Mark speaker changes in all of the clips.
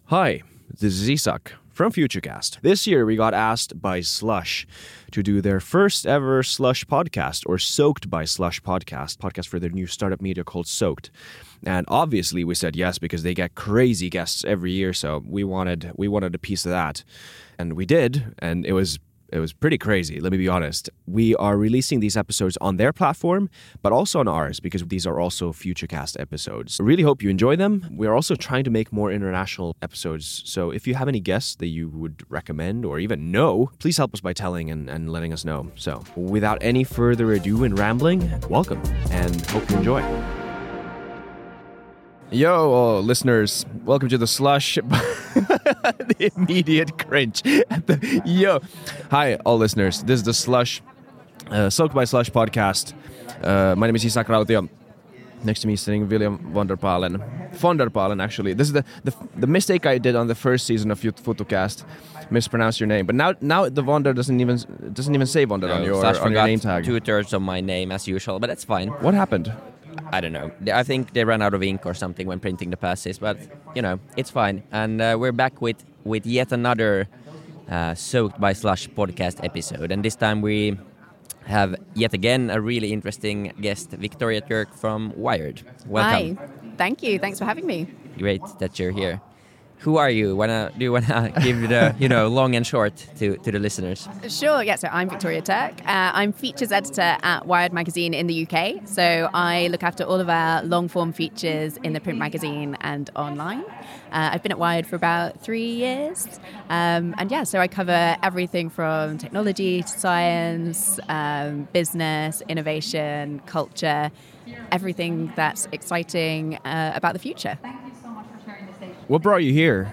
Speaker 1: Hi, this is Isak from Futurecast. This year we got asked by Slush to do their first ever Slush podcast, or Soaked by Slush podcast for their new startup media called Soaked. And obviously we said yes because they get crazy guests every year, so we wanted a piece of that. And we did, and it was pretty crazy, let me be honest. We are releasing these episodes on their platform, but also on ours, because these are also Futurecast episodes. I really hope you enjoy them. We are also trying to make more international episodes, so if you have any guests that you would recommend or even know, please help us by telling and letting us know. So, without any further ado and rambling, welcome, and hope you enjoy. Yo, listeners, welcome to the Slush. The immediate cringe. Yo. Hi, all listeners. This is the Slush, Soaked by Slush podcast. My name is Isak Rautio. Next to me is sitting William von der Palen, actually. This is the mistake I did on the first season of Futucast. Mispronounced your name, but now the Vonder doesn't even say Vonder on your name tag.
Speaker 2: 2/3 of my name as usual, but that's fine.
Speaker 1: What happened?
Speaker 2: I don't know. I think they ran out of ink or something when printing the passes, but it's fine. And we're back with yet another Soaked by Slush podcast episode, and this time we have yet again a really interesting guest, Victoria Turk from Wired. Welcome.
Speaker 3: Hi. Thank you. Thanks for having me.
Speaker 2: Great that you're here. Who are you? Do you wanna give the long and short to the listeners?
Speaker 3: Sure. Yeah. So I'm Victoria Turk. I'm features editor at Wired magazine in the UK. So I look after all of our long form features in the print magazine and online. I've been at Wired for about 3 years, so I cover everything from technology to science, business, innovation, culture, everything that's exciting about the future.
Speaker 1: What brought you here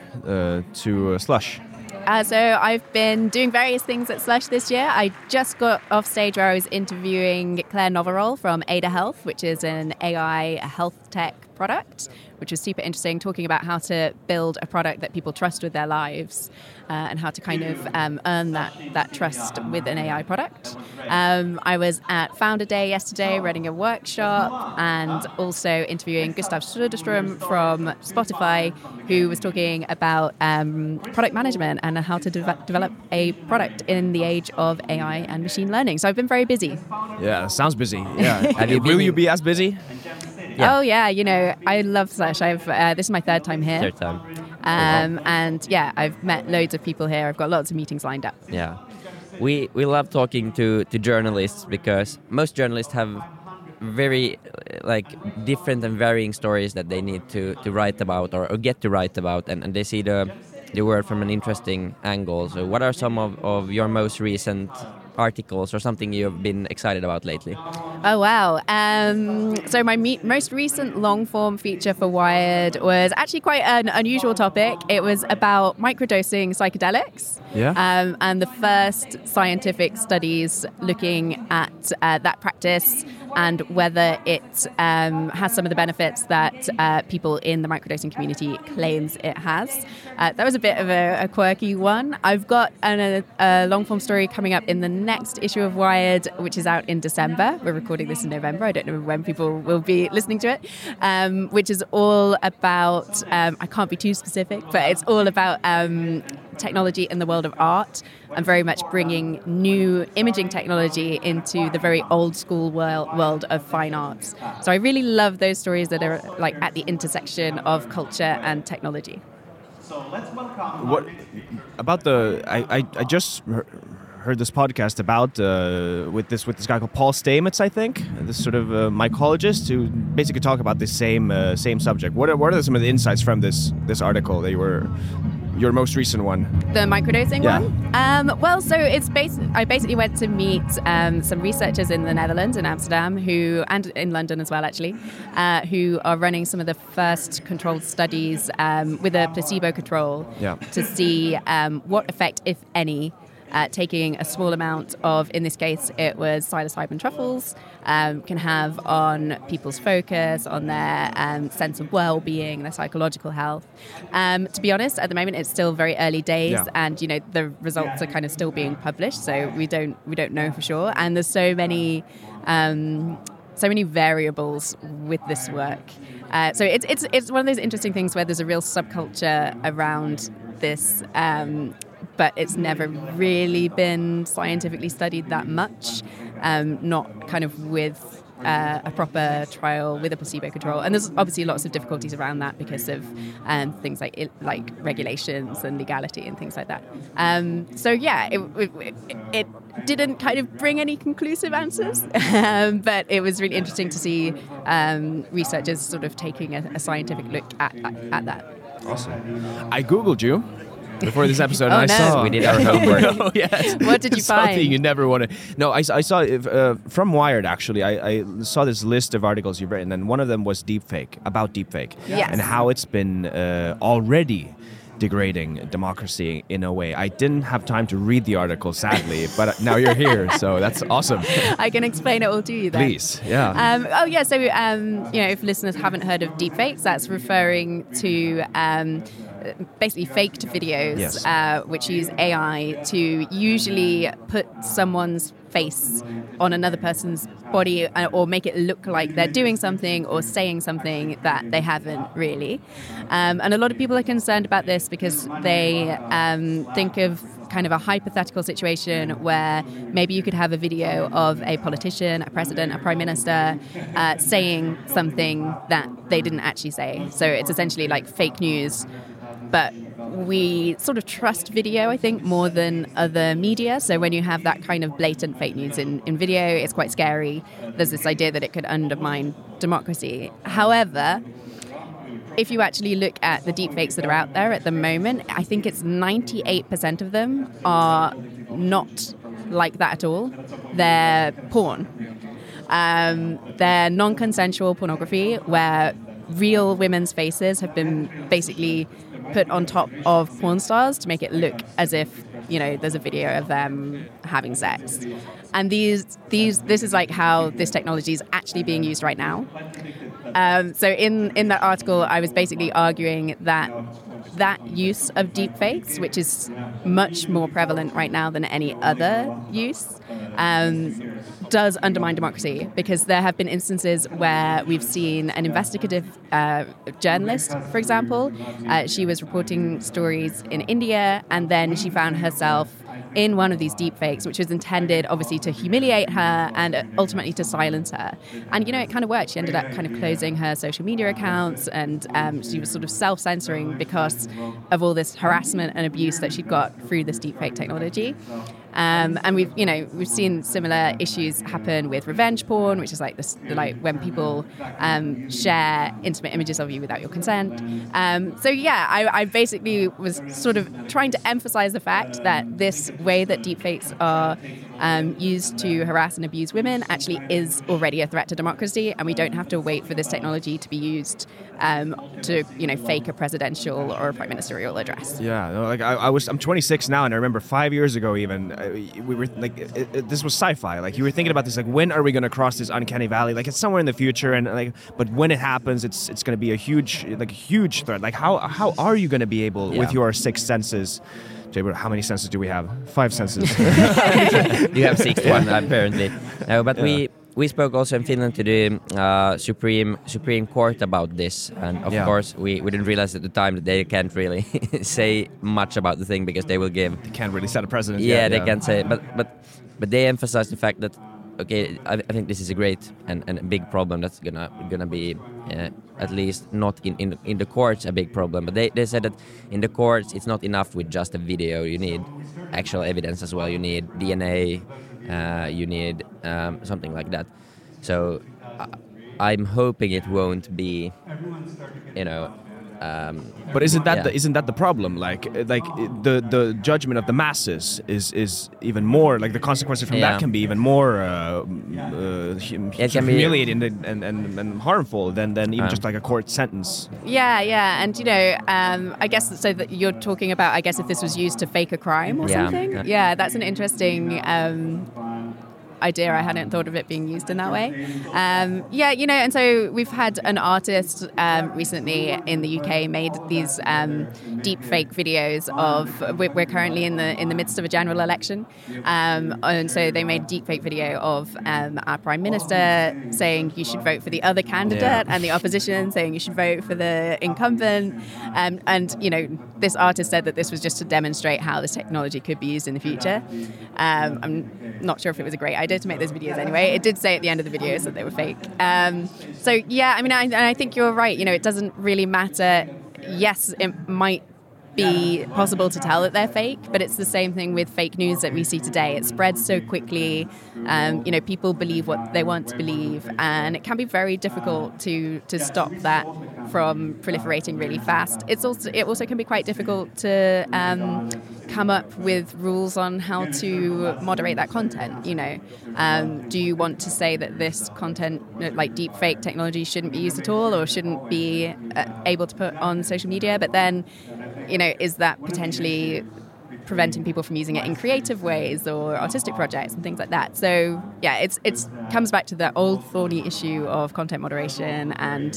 Speaker 1: to Slush?
Speaker 3: So I've been doing various things at Slush this year. I just got off stage where I was interviewing Claire Noverol from Ada Health, which is an AI health tech product, which was super interesting, talking about how to build a product that people trust with their lives and how to kind of earn that trust with an AI product. I was at Founder Day yesterday running a workshop and also interviewing Gustav Söderström from Spotify, who was talking about product management and how to develop a product in the age of AI and machine learning. So I've been very busy.
Speaker 1: Yeah, sounds busy. Yeah. Will you be as busy?
Speaker 3: Yeah. Oh yeah, I love Slush. This is my third time here.
Speaker 2: Third time.
Speaker 3: And yeah, I've met loads of people here. I've got lots of meetings lined up.
Speaker 2: Yeah, we love talking to journalists because most journalists have very different and varying stories that they need to write about or get to write about, and they see the world from an interesting angle. So what are some of your most recent articles or something you've been excited about lately?
Speaker 3: Oh, wow. So my most recent long-form feature for Wired was actually quite an unusual topic. It was about microdosing psychedelics.
Speaker 1: Yeah.
Speaker 3: And the first scientific studies looking at that practice and whether it has some of the benefits that people in the microdosing community claims it has. That was a bit of a quirky one. I've got a long-form story coming up in the next issue of Wired, which is out in December. We're recording this in November. I don't know when people will be listening to it, which is all about, I can't be too specific, but it's all about technology in the world of art and very much bringing new imaging technology into the very old school world of fine arts. So I really love those stories that are like at the intersection of culture and technology.
Speaker 1: So let's welcome. What about I just heard this podcast about with this guy called Paul Stamets, I think, this sort of mycologist who basically talk about the same subject. What are some of the insights from this article that your most recent one?
Speaker 3: The microdosing one? Well, so it's I basically went to meet some researchers in the Netherlands, in Amsterdam, and in London as well, actually, who are running some of the first controlled studies with a placebo control to see what effect, if any, taking a small amount of, in this case, it was psilocybin truffles, can have on people's focus, on their sense of well-being, their psychological health. To be honest, at the moment, it's still very early days, and the results are kind of still being published, so we don't know for sure. And there's so many so many variables with this work. So it's one of those interesting things where there's a real subculture around this, but it's never really been scientifically studied that much, not kind of with a proper trial with a placebo control. And there's obviously lots of difficulties around that because of things like regulations and legality and things like that. So yeah, it didn't kind of bring any conclusive answers, but it was really interesting to see researchers sort of taking a scientific look at that.
Speaker 1: Awesome. I Googled you before this episode,
Speaker 3: Oh,
Speaker 1: and I
Speaker 3: no.
Speaker 1: saw
Speaker 2: We did our homework.
Speaker 1: Oh, yes.
Speaker 3: What did you
Speaker 1: Something
Speaker 3: find?
Speaker 1: you never want to. No, I saw from Wired actually. I saw this list of articles you've written, and one of them was deepfake, about deepfake,
Speaker 3: Yes.
Speaker 1: and how it's been already degrading democracy in a way. I didn't have time to read the article, sadly, but now you're here, so that's awesome.
Speaker 3: I can explain it all to you then.
Speaker 1: Please, yeah.
Speaker 3: So if listeners haven't heard of deepfakes, that's referring to basically faked videos,
Speaker 1: Yes.
Speaker 3: which use AI to usually put someone's face on another person's body or make it look like they're doing something or saying something that they haven't really. And a lot of people are concerned about this because they think of kind of a hypothetical situation where maybe you could have a video of a politician, a president, a prime minister saying something that they didn't actually say. So it's essentially like fake news, but we sort of trust video, I think, more than other media. So when you have that kind of blatant fake news in video, it's quite scary. There's this idea that it could undermine democracy. However, if you actually look at the deepfakes that are out there at the moment, I think it's 98% of them are not like that at all. They're porn. They're non-consensual pornography where real women's faces have been basically put on top of porn stars to make it look as if, there's a video of them having sex. And this is like how this technology is actually being used right now. So in that article, I was basically arguing that use of deepfakes, which is much more prevalent right now than any other use, does undermine democracy, because there have been instances where we've seen an investigative journalist, for example. She was reporting stories in India, and then she found herself in one of these deepfakes, which was intended, obviously, to humiliate her and ultimately to silence her. And, it kind of worked. She ended up kind of closing her social media accounts, and she was sort of self-censoring because of all this harassment and abuse that she'd got through this deepfake technology. And we've seen similar issues happen with revenge porn, which is like this, like when people share intimate images of you without your consent. I basically was sort of trying to emphasize the fact that this way that deepfakes are used to harass and abuse women actually is already a threat to democracy, and we don't have to wait for this technology to be used to fake a presidential or a prime ministerial address.
Speaker 1: Yeah, no, like I'm 26 now, and I remember 5 years ago even we were like this was sci-fi. Like you were thinking about this, like when are we going to cross this uncanny valley? Like it's somewhere in the future, and but when it happens, it's going to be a huge threat. Like how are you going to be able with your sixth senses? How many senses do we have? 5 senses.
Speaker 2: You have 6 one apparently. No, but we spoke also in Finland to the Supreme Court about this, and of course we didn't realize at the time that they can't really say much about the thing because they will give.
Speaker 1: They can't really set a precedent.
Speaker 2: Yeah, they can't say, but they emphasize the fact that I think this is a great and a big problem that's gonna be at least not in the courts a big problem. But they said that in the courts it's not enough with just a video. You need actual evidence as well. You need DNA. You need something like that. So I'm hoping it won't be,
Speaker 1: but isn't that the problem? Like the judgment of the masses is even more, like the consequences from that can be even more humiliating and harmful than even just like a court sentence.
Speaker 3: Yeah, and I guess so that you're talking about, I guess, if this was used to fake a crime or something. Yeah, that's an interesting idea. I hadn't thought of it being used in that way. And so we've had an artist recently in the UK made these deep fake videos of. We're currently in the midst of a general election, and so they made a deep fake video of our Prime Minister saying you should vote for the other candidate, and the opposition saying you should vote for the incumbent. And this artist said that this was just to demonstrate how this technology could be used in the future. I'm not sure if it was a great idea to make those videos anyway. It did say at the end of the videos that they were fake. I think you're right. It doesn't really matter. Yes, it might be possible to tell that they're fake, but it's the same thing with fake news that we see today. It spreads so quickly. People believe what they want to believe, and it can be very difficult to stop that from proliferating really fast. It also can be quite difficult to come up with rules on how to moderate that content. Do you want to say that this content, like deep fake technology, shouldn't be used at all, or shouldn't be able to put on social media? But then, is that potentially preventing people from using it in creative ways or artistic projects and things like that? So yeah, it comes back to the old thorny issue of content moderation and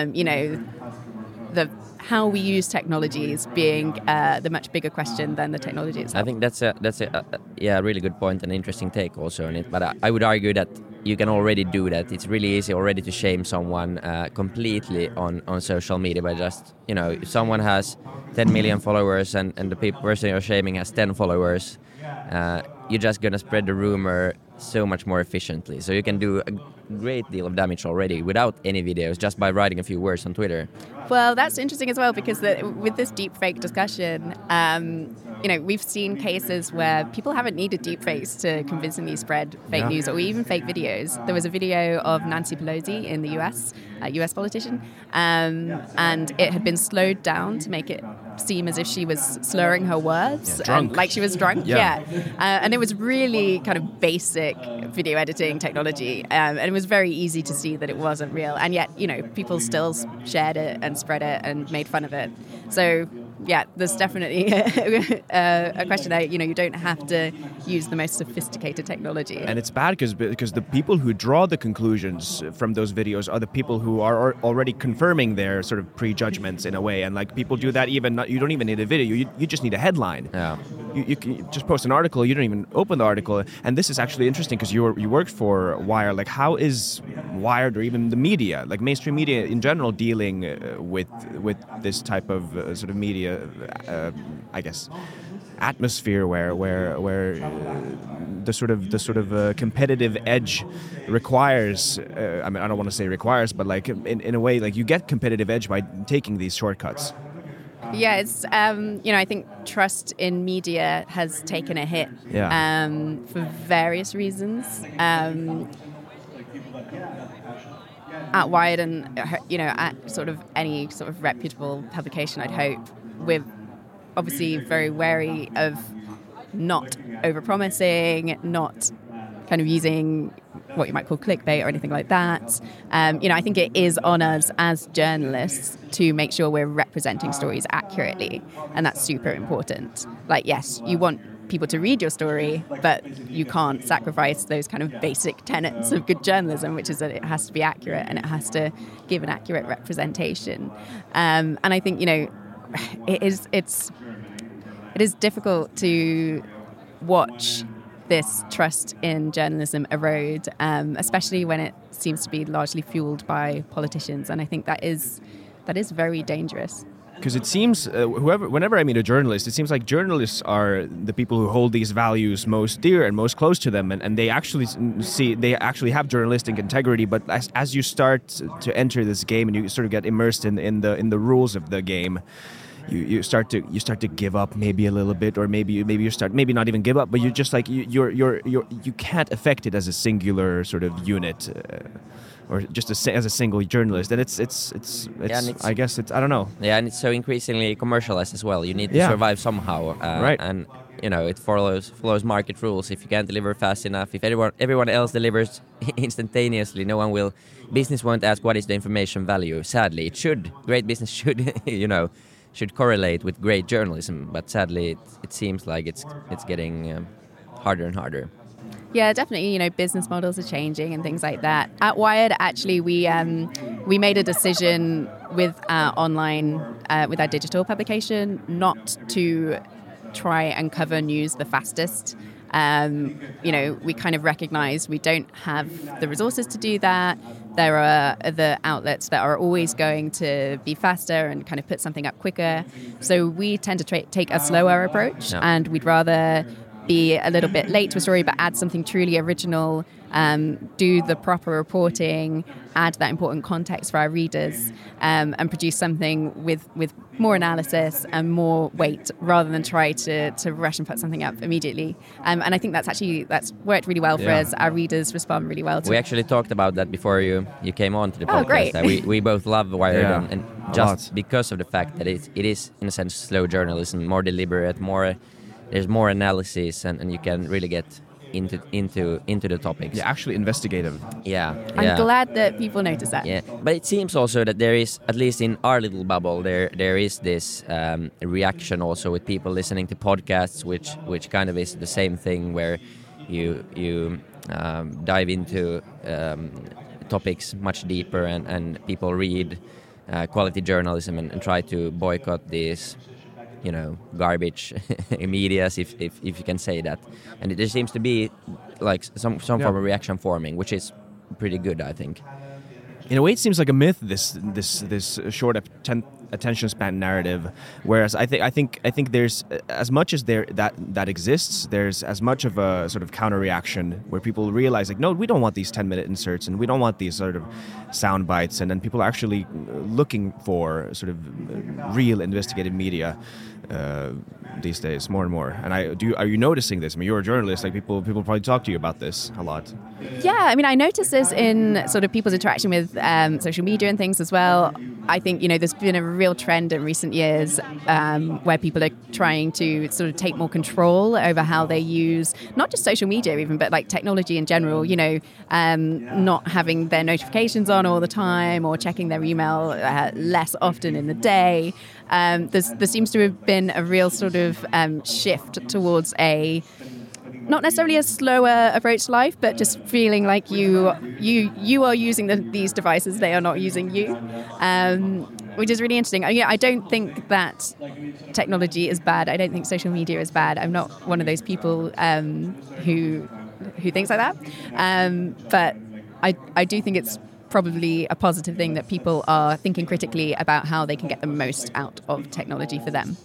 Speaker 3: the how we use technologies being the much bigger question than the technology itself.
Speaker 2: I think that's a really good point and interesting take also on it. But I would argue that you can already do that. It's really easy already to shame someone completely on social media by just, if someone has 10 million followers and the person you're shaming has 10 followers, you're just going to spread the rumor so much more efficiently. So you can do a great deal of damage already without any videos, just by writing a few words on Twitter.
Speaker 3: Well, that's interesting as well, because with this deepfake discussion, we've seen cases where people haven't needed deepfakes to convincingly spread fake news or even fake videos. There was a video of Nancy Pelosi in the US, a US politician, and it had been slowed down to make it seem as if she was slurring her words, like she was drunk. And it was really kind of basic video editing technology, and it was very easy to see that it wasn't real, and yet people still shared it and spread it and made fun of it. So yeah, there's definitely a question that you don't have to use the most sophisticated technology.
Speaker 1: And it's bad because the people who draw the conclusions from those videos are the people who are already confirming their sort of prejudgments in a way. And like people do that you don't even need a video. You just need a headline.
Speaker 2: Yeah.
Speaker 1: You can just post an article. You don't even open the article. And this is actually interesting because you worked for Wired. Like, how is Wired or even the media, like mainstream media in general, dealing with this type of sort of media? I guess atmosphere where the sort of competitive edge requires. I don't want to say requires, but like in a way, like you get competitive edge by taking these shortcuts.
Speaker 3: Yeah, it's I think trust in media has taken a hit for various reasons. At Wired and at sort of any sort of reputable publication, I'd hope we're obviously very wary of not overpromising, not kind of using what you might call clickbait or anything like that. I think it is on us as journalists to make sure we're representing stories accurately, and that's super important. Like, yes, you want people to read your story, but you can't sacrifice those kind of basic tenets of good journalism, which is that it has to be accurate and it has to give an accurate representation. And I think it is difficult to watch this trust in journalism erode, especially when it seems to be largely fueled by politicians, and I think that is very dangerous.
Speaker 1: Because it seems, whenever I meet a journalist, it seems like journalists are the people who hold these values most dear and most close to them, and they actually have journalistic integrity. But as you start to enter this game and you sort of get immersed in the rules of the game, you start to give up maybe a little bit, or maybe you start maybe not even give up, but you just like you can't affect it as a singular sort of unit. Or just as a single journalist, and it's I guess it's I don't know.
Speaker 2: Yeah, and it's so increasingly commercialized as well. You need to survive somehow,
Speaker 1: right?
Speaker 2: And it follows market rules. If you can't deliver fast enough, if everyone else delivers instantaneously, business won't ask what is the information value. Sadly, it should. Great business should correlate with great journalism, but sadly, it seems like it's getting harder and harder.
Speaker 3: Yeah, definitely. Business models are changing and things like that. At Wired, actually, we made a decision with our online, with our digital publication, not to try and cover news the fastest. We kind of recognize we don't have the resources to do that. There are other outlets that are always going to be faster and kind of put something up quicker. So we tend to take a slower approach, and we'd rather be a little bit late to a story, but add something truly original, do the proper reporting, add that important context for our readers, and produce something with more analysis and more weight, rather than try to rush and put something up immediately. And I think that's worked really well for us. Our readers respond really well to it.
Speaker 2: We actually talked about that before you came on to the podcast.
Speaker 3: Oh, great.
Speaker 2: We both love Wired, and just
Speaker 1: lot.
Speaker 2: because of the fact that it is in a sense slow journalism, more deliberate, there's more analysis, and you can really get into the topics.
Speaker 1: Yeah, actually investigative.
Speaker 2: Yeah.
Speaker 3: I'm glad that people notice that.
Speaker 2: Yeah, but it seems also that there is, at least in our little bubble, there is this reaction also with people listening to podcasts, which kind of is the same thing, where you dive into topics much deeper, and people read quality journalism and try to boycott these garbage medias, if you can say that. And there seems to be like some form of reaction forming, which is pretty good, I think.
Speaker 1: In a way, it seems like a myth, this short attention span narrative. Whereas I think there's, as much as that exists, there's as much of a sort of counter reaction where people realize, like, no, we don't want these 10-minute inserts, and we don't want these sort of sound bites, and then people are actually looking for sort of real investigative media these days, more and more. And are you noticing this? I mean, you're a journalist. Like, people probably talk to you about this a lot.
Speaker 3: Yeah, I mean, I notice this in sort of people's interaction with social media and things as well. I think, there's been a real trend in recent years where people are trying to sort of take more control over how they use not just social media even, but like technology in general, not having their notifications on all the time, or checking their email less often in the day. There seems to have been a real sort of shift towards not necessarily a slower approach to life, but just feeling like you are using these devices, they are not using you, which is really interesting. I don't think that technology is bad. I don't think social media is bad. I'm not one of those people who thinks like that. But I do think it's probably a positive thing that people are thinking critically about how they can get the most out of technology for them.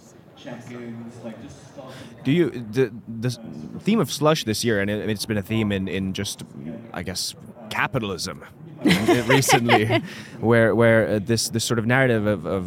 Speaker 1: Do you the theme of slush this year, and it's been a theme in just, I guess, capitalism recently, where this sort of narrative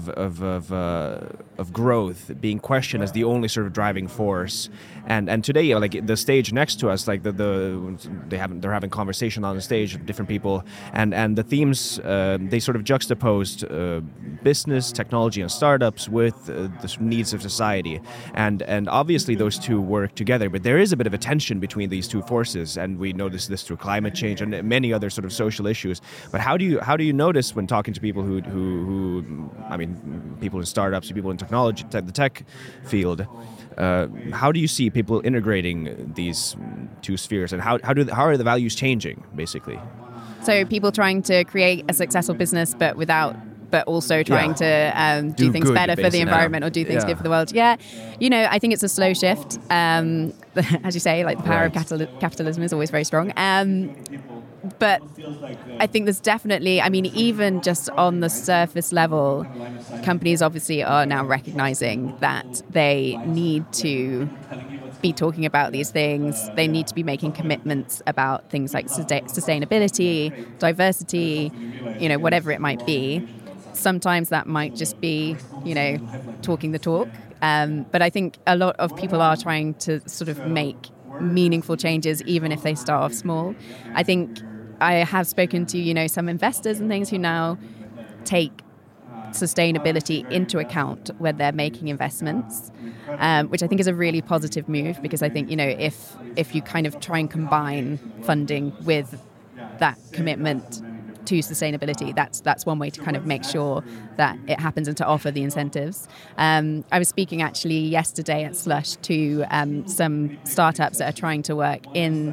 Speaker 1: of growth being questioned as the only sort of driving force, and today, like the stage next to us, like they're having conversation on the stage with different people, and the themes they sort of juxtaposed business, technology, and startups with the needs of society, and obviously those two work together, but there is a bit of a tension between these two forces, and we notice this through climate change and many other sort of social issues. But how do you notice when talking to people who I mean, people in startups, people in technology, the tech field, how do you see people integrating these two spheres, and how are the values changing, basically? So
Speaker 3: people trying to create a successful business, but also trying to do things better for the environment, or do things good for the world. Yeah, I think it's a slow shift. As you say, like the power of capitalism is always very strong. But I think there's definitely, I mean, even just on the surface level, companies obviously are now recognizing that they need to be talking about these things. They need to be making commitments about things like sustainability, diversity, whatever it might be. Sometimes that might just be, talking the talk. But I think a lot of people are trying to sort of make meaningful changes, even if they start off small. I think I have spoken to, some investors and things who now take sustainability into account when they're making investments, which I think is a really positive move, because I think, if you kind of try and combine funding with that commitment, to sustainability. That's one way to kind of make sure that it happens and to offer the incentives. I was speaking actually yesterday at Slush to some startups that are trying to work in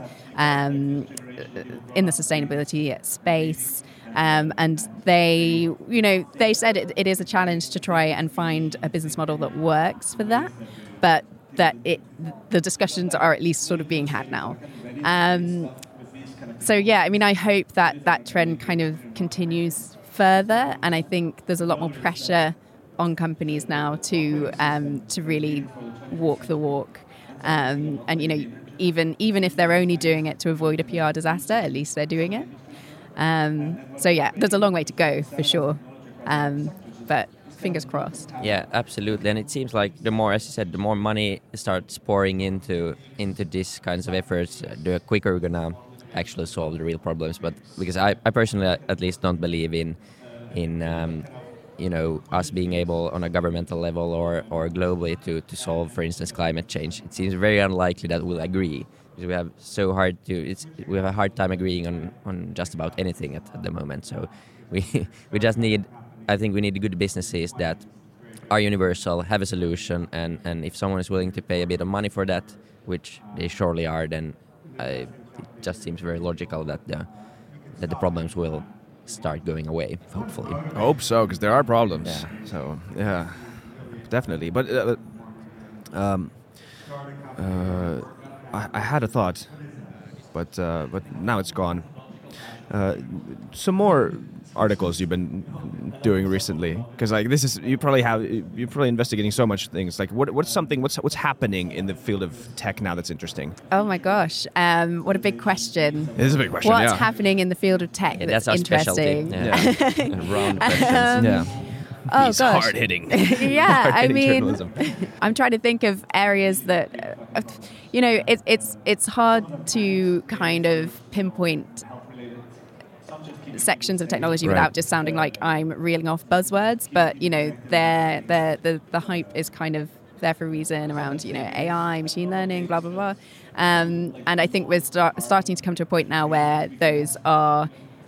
Speaker 3: the sustainability space. And they said it is a challenge to try and find a business model that works for that, but that the discussions are at least sort of being had now. So yeah, I mean, I hope that trend kind of continues further, and I think there's a lot more pressure on companies now to really walk the walk, and even if they're only doing it to avoid a PR disaster, at least they're doing it. So yeah, there's a long way to go for sure, but fingers crossed.
Speaker 2: Yeah, absolutely. And it seems like the more, as you said, the more money starts pouring into these kinds of efforts, the quicker we're gonna actually solve the real problems. But because I personally at least don't believe in us being able on a governmental level or globally to solve, for instance, climate change. It seems very unlikely that we'll agree. Because we have a hard time agreeing on just about anything at the moment. So we just need, I think we need good businesses that are universal, have a solution, and if someone is willing to pay a bit of money for that, which they surely are, then it just seems very logical that the problems will start going away, hopefully.
Speaker 1: I hope so, because there are problems.
Speaker 2: Yeah.
Speaker 1: So yeah, definitely. But I had a thought, but now it's gone. Some more articles you've been doing recently, because like this is you're probably investigating so much things. Like what's happening in the field of tech now that's interesting?
Speaker 3: Oh my gosh, what a big question.
Speaker 1: It is a big question.
Speaker 3: What's happening in the field of tech that's
Speaker 2: our
Speaker 3: interesting?
Speaker 2: Specialty. Yeah. Round questions.
Speaker 1: Yeah.
Speaker 3: Oh
Speaker 1: These
Speaker 3: gosh.
Speaker 1: hard hitting.
Speaker 3: Yeah, I mean,
Speaker 1: journalism.
Speaker 3: I'm trying to think of areas that, it's hard to kind of pinpoint sections of technology
Speaker 1: Right.
Speaker 3: without just sounding like I'm reeling off buzzwords. But the hype is kind of there for a reason around AI, machine learning, blah blah blah. And I think we're starting to come to a point now where those are,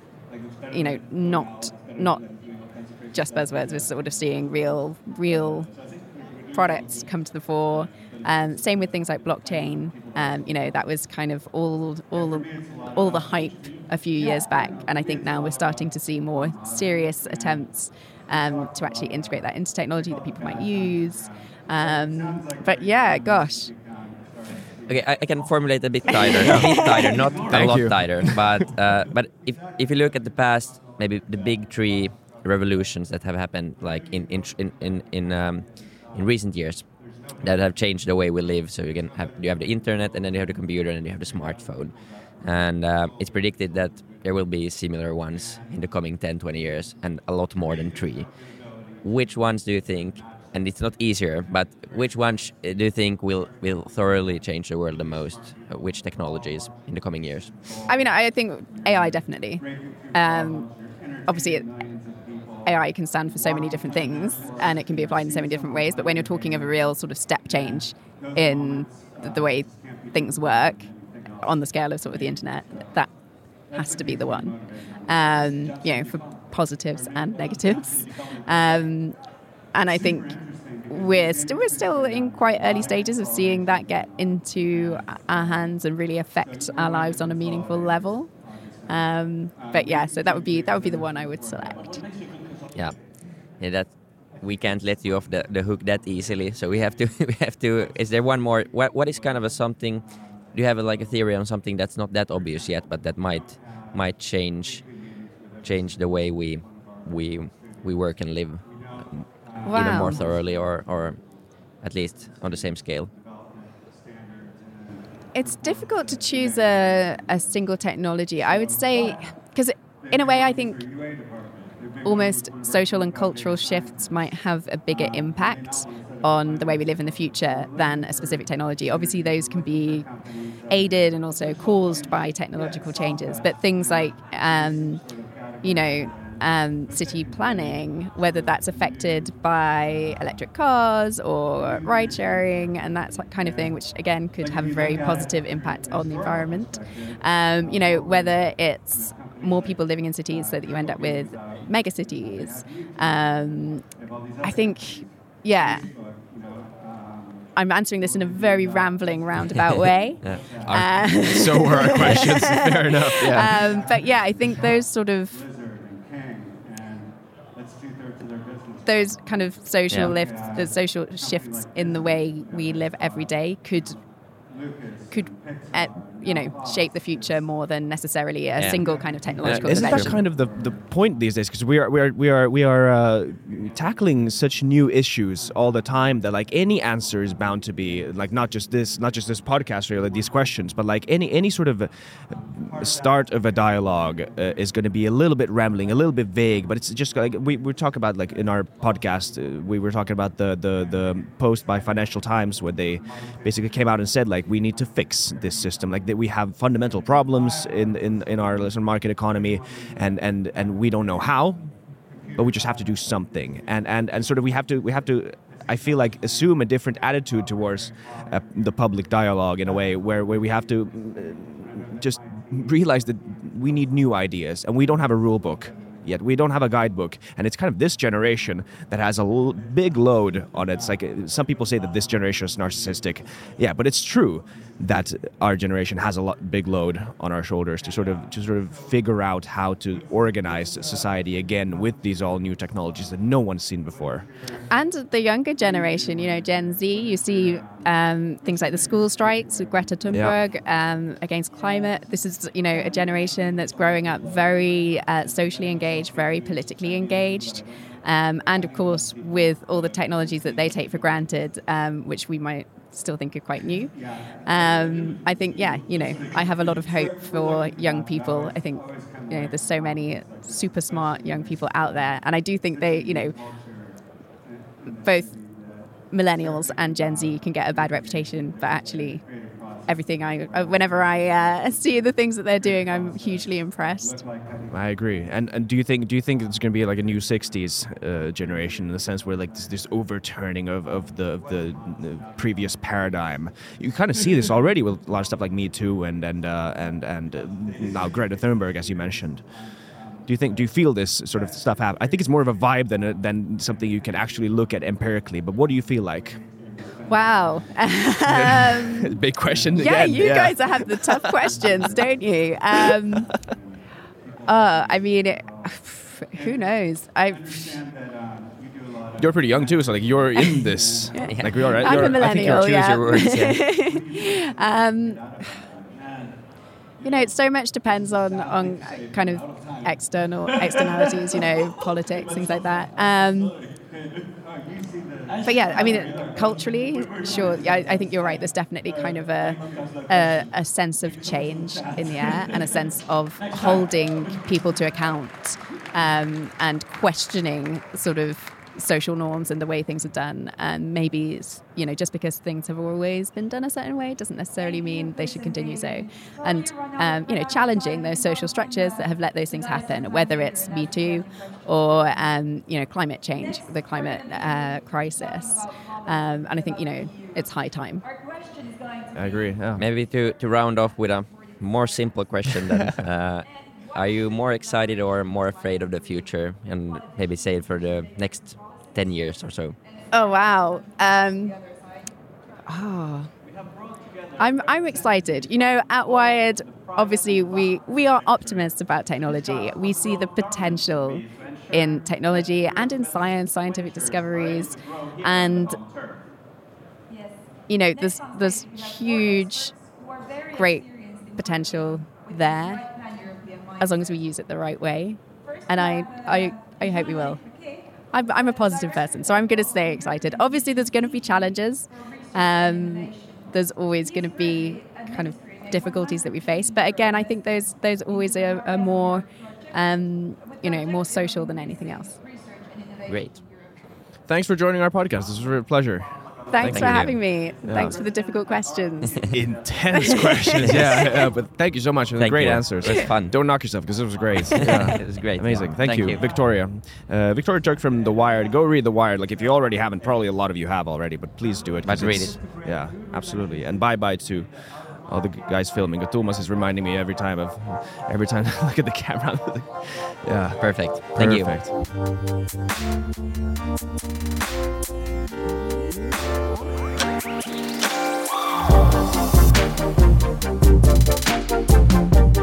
Speaker 3: not just buzzwords. We're sort of seeing real products come to the fore. Same with things like blockchain. That was kind of all the hype a few years back, and I think now we're starting to see more serious attempts to actually integrate that into technology that people might use. But yeah, gosh.
Speaker 2: Okay, I can formulate a bit tighter, not a lot tighter. But if you look at the past, maybe the big three revolutions that have happened, like in recent years, that have changed the way we live. So you have the internet, and then you have the computer, and then you have the smartphone. And it's predicted that there will be similar ones in the coming 10, 20 years, and a lot more than three. Which ones do you think, and it's not easier, but which ones do you think will thoroughly change the world the most? Which technologies in the coming years?
Speaker 3: I mean, I think AI definitely. Obviously, AI can stand for so many different things, and it can be applied in so many different ways. But when you're talking of a real sort of step change in the way things work on the scale of sort of the internet, that has to be the one. For positives and negatives. And I think we're still in quite early stages of seeing that get into our hands and really affect our lives on a meaningful level. But yeah, so that would be the one I would select.
Speaker 2: Yeah, that we can't let you off the hook that easily. So we have to. Is there one more? What is kind of a something? Do you have a theory on something that's not that obvious yet, but that might change the way we work and live even more thoroughly, or at least on the same scale?
Speaker 3: It's difficult to choose a single technology. I would say, because in a way I think almost social and cultural shifts might have a bigger impact on the way we live in the future than a specific technology. Obviously, those can be aided and also caused by technological changes. But things like, city planning, whether that's affected by electric cars or ride sharing and that kind of thing, which again could have a very positive impact on the environment. Whether it's more people living in cities so that you end up with mega cities. I think, yeah. I'm answering this in a very rambling, roundabout way.
Speaker 1: So were our questions. Fair enough. Yeah.
Speaker 3: But yeah, I think those sort of those kind of social lifts, the social shifts in the way we live every day could shape the future more than necessarily a single kind of technological
Speaker 1: Isn't
Speaker 3: invention.
Speaker 1: that kind of the point these days? Because we are tackling such new issues all the time that like any answer is bound to be like not just this podcast really, these questions, but like any sort of start of a dialogue is going to be a little bit rambling, a little bit vague. But it's just like we talk about, like in our podcast, we were talking about the post by Financial Times where they basically came out and said like we need to fix this system, like that we have fundamental problems in our market economy, and we don't know how, but we just have to do something, and sort of we have to I feel like assume a different attitude towards the public dialogue in a way where we have to just realize that we need new ideas, and we don't have a rule book yet. We don't have a guidebook, and it's kind of this generation that has a big load on it. It's like some people say that this generation is narcissistic. Yeah, but it's true that our generation has a big load on our shoulders to sort of figure out how to organize society again with these all new technologies that no one's seen before.
Speaker 3: And the younger generation, Gen Z, you see things like the school strikes with Greta Thunberg against climate. This is, a generation that's growing up very socially engaged, very politically engaged. And of course, with all the technologies that they take for granted, which we might still think are quite new. I think, I have a lot of hope for young people. I think, there's so many super smart young people out there. And I do think they, both millennials and Gen Z can get a bad reputation, but actually everything whenever I see the things that they're doing, I'm hugely impressed.
Speaker 1: I agree. And do you think it's going to be like a new 60s generation in the sense where like this overturning of the previous paradigm? You kind of see this already with a lot of stuff like Me Too and now Greta Thunberg, as you mentioned. Do you feel this sort of stuff happen? I think it's more of a vibe than something you can actually look at empirically. But what do you feel like?
Speaker 3: Wow.
Speaker 1: Big question again.
Speaker 3: Yeah, you guys have the tough questions, don't you? I mean, who knows?
Speaker 1: You're pretty young too, so like you're in this. Like we are.
Speaker 3: I'm a millennial.
Speaker 2: I think choose your words.
Speaker 3: Yeah. So much depends on kind of externalities, politics, things like that. But yeah, I mean, culturally, sure. Yeah, I think you're right. There's definitely kind of a sense of change in the air and a sense of holding people to account and questioning sort of social norms and the way things are done. And maybe, just because things have always been done a certain way doesn't necessarily mean they should continue so. And, challenging those social structures that have let those things happen, whether it's Me Too or, climate change, the climate crisis. And I think, it's high time.
Speaker 1: I agree. Yeah.
Speaker 2: Maybe to round off with a more simple question then. Are you more excited or more afraid of the future, and maybe say it for the next 10 years or so?
Speaker 3: Oh, wow. I'm excited. At Wired, obviously, we are optimists about technology. We see the potential in technology and in scientific discoveries. And, there's huge, great potential there, as long as we use it the right way. And I hope we will. I'm a positive person, so I'm going to stay excited. Obviously, there's going to be challenges. There's always going to be kind of difficulties that we face. But again, I think those always are more, more social than anything else.
Speaker 2: Great.
Speaker 1: Thanks for joining our podcast. This was a pleasure.
Speaker 3: Thanks for having me. Yeah. Thanks for the difficult questions.
Speaker 1: Intense questions, yeah. But thank you so much for the great answers.
Speaker 2: It was fun.
Speaker 1: Don't knock yourself, because it was great. Yeah.
Speaker 2: It was great.
Speaker 1: Amazing. Thank you, Victoria. Victoria Turk from The Wired. Go read The Wired. Like, if you already haven't, probably a lot of you have already, but please do it.
Speaker 2: But read it.
Speaker 1: Yeah, absolutely. And bye-bye to all the guys filming. But Thomas is reminding me every time I look at the camera. Yeah,
Speaker 2: Perfect. Thank you.
Speaker 1: Perfect.